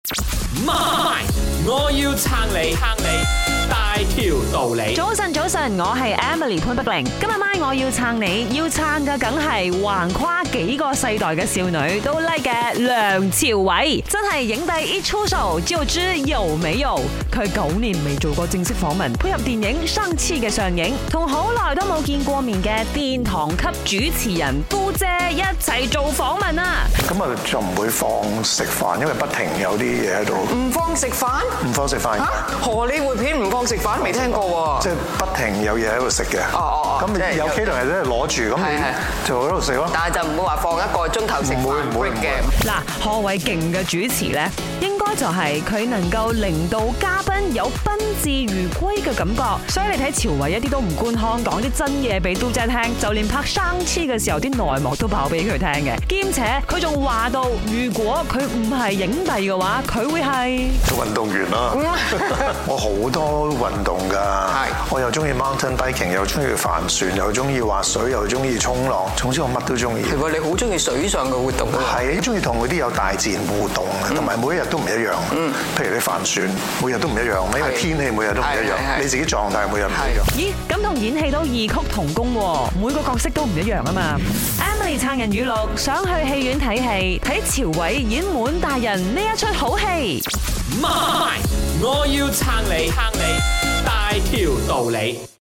媽，我要撐你，大條道理。 早晨，我係 Emily 潘碧玲。今日晚我要撐你，要撐嘅梗係橫跨幾個世代嘅少女都 like 嘅梁朝偉，真係影帝一出手就知有沒有。佢9年未做過正式訪問，配合電影《生痴》嘅上映，同好耐都冇見過面嘅殿堂級主持人都姐一齊做訪問啊！ 咁啊就唔會放食飯，因為不停有啲嘢喺度。 唔放食飯？ 唔放食飯？ 荷里活片唔放食飯，未聽過喎。 即係不停有嘢喺度食嘅。咁有 K 同人咧攞住，咁你就喺度食咯。 但係就唔會話放一個鐘頭食飯。 唔會嘅。 嗱，何謂勁嘅主持呢？應該就係佢能夠令到嘉賓有賓至如歸嘅感覺。所以你睇朝偉一啲都唔官腔，講啲真嘢俾都姐聽，就連拍生痴嘅時候啲內幕都爆俾佢聽嘅。兼且佢仲話到，如果佢唔係影帝嘅話，佢會係做運動員啦。我好多運動㗎，我又中意 mountain biking， 又中意帆船，又中意滑水，又中意衝浪，總之我乜都中意。 係喎，你好中意水上嘅活動㗎？ 係，中意同嗰啲有大自然互動嘅，同埋每一日都唔一樣。譬如你帆船，每日都唔一樣，因為天氣每日都唔一樣，你自己狀態每日唔一樣。 咦，咁同演戲都異曲同工喎，每個角色都唔一樣啊嘛。Emily 撐人語錄，想去戲院睇戲，睇朝偉演滿大人呢一出好戲。 媽，我要撐你，大條道理。